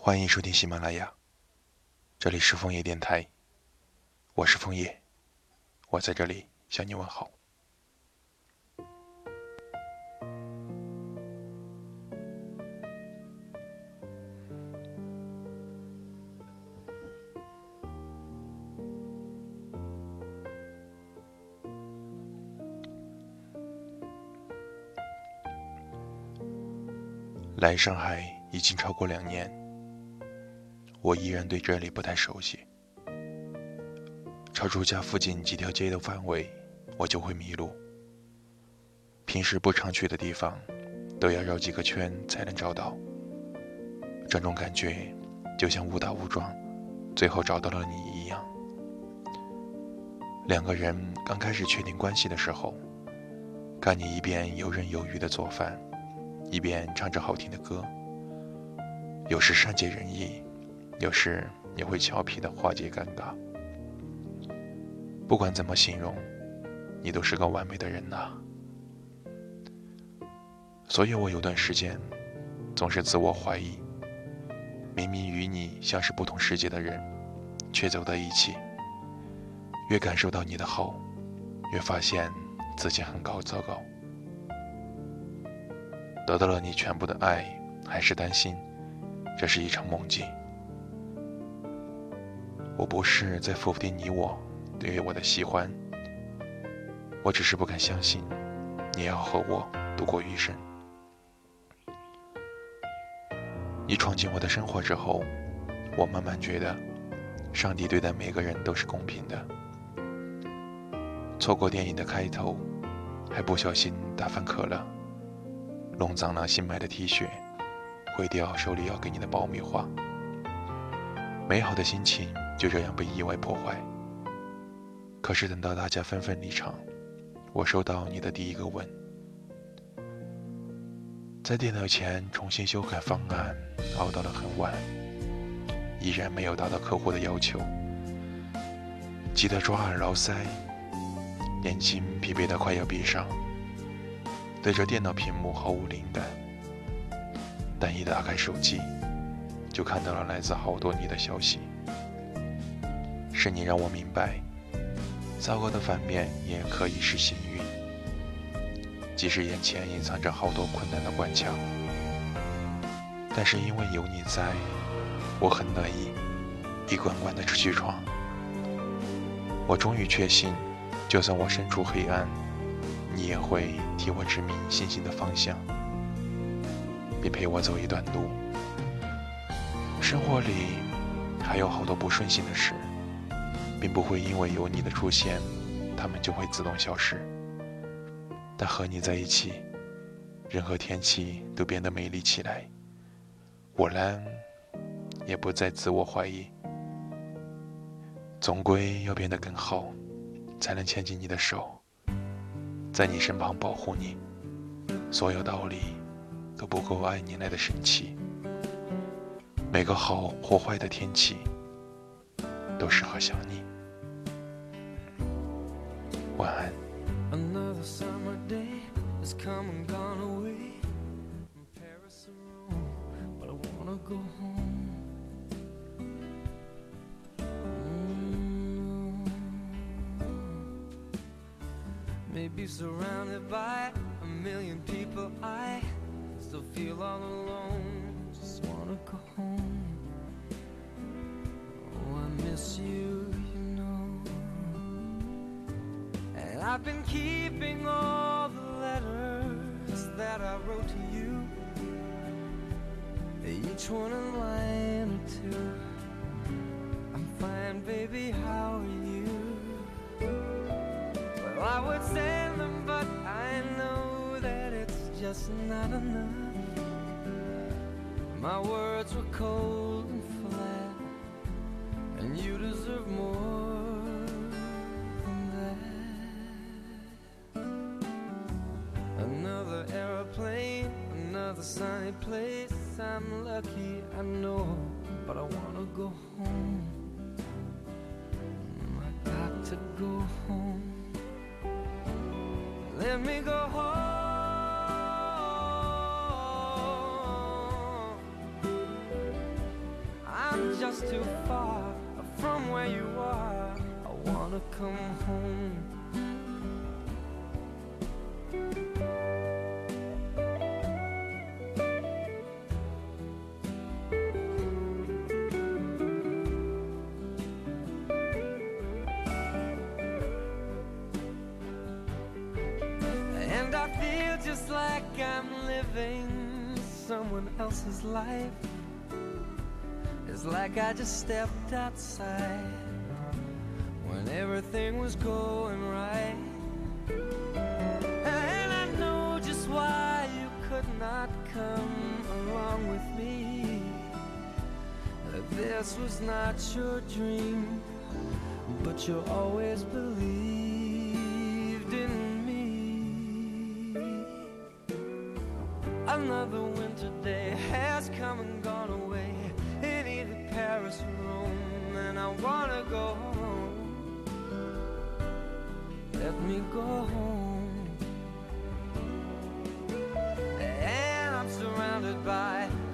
欢迎收听喜马拉雅，这里是枫叶电台，我是枫叶，我在这里向你问好。来上海已经超过2年，我依然对这里不太熟悉。超出家附近几条街的范围，我就会迷路。平时不常去的地方，都要绕几个圈才能找到。这种感觉就像误打误撞，最后找到了你一样。2个人刚开始确定关系的时候，看你一边游刃有余地做饭，一边唱着好听的歌，有时善解人意，有时也会俏皮地化解尴尬。不管怎么形容，你都是个完美的人呐。所以我有段时间总是自我怀疑，明明与你像是不同世界的人，却走在一起。越感受到你的好，越发现自己很糟糕。得到了你全部的爱，还是担心这是一场梦境。我不是在否定我对我的喜欢，我只是不敢相信你要和我度过余生。你闯进我的生活之后，我慢慢觉得上帝对待每个人都是公平的。错过电影的开头，还不小心打翻可乐，弄脏了新买的 T 恤，毁掉手里要给你的爆米花，美好的心情就这样被意外破坏。可是等到大家纷纷离场，我收到你的第一个吻。在电脑前重新修改方案，熬到了很晚，依然没有达到客户的要求，急得抓耳挠腮，眼睛疲惫得快要闭上，对着电脑屏幕毫无灵感。但一打开手机，就看到了来自好多你的消息。是你让我明白，糟糕的反面也可以是幸运。即使眼前隐藏着好多困难的关卡，但是因为有你在，我很乐意一关关的出去闯。我终于确信，就算我身处黑暗，你也会替我指明信心的方向，并陪我走一段路。生活里还有好多不顺心的事，并不会因为有你的出现，它们就会自动消失。但和你在一起，任何天气都变得美丽起来。我呢，也不再自我怀疑，总归要变得更好，才能牵紧你的手，在你身旁保护你。所有道理都不够爱你来的神奇。每个好或坏的天气，都适合想你。晚安。 Another summer day has come and gone away from Paris or Rome, but I wanna go home. Maybe surrounded by a million people, I still feel all alone. Just wanna go home. Oh, I miss you, you know. And I've been keeping all the letters that I wrote to you, each one a line or two. I'm fine, baby, how are you? Well, I would send them, but I know that it's just not enough. My words were cold and flat, and you deserve more than that. Another airplane, another sunny place. I'm lucky, I know, but I wanna go home. I got to go home. Let me go home. too far from where you are. I wanna come home. And I feel just like I'm living someone else's life. It's like I just stepped outside when everything was going right. And I know just why you could not come along with me. That this was not your dream, but you always believed in me. Another winter day has come and gone away in either Paris or Rome, and I wanna go home. Let me go home. And I'm surrounded by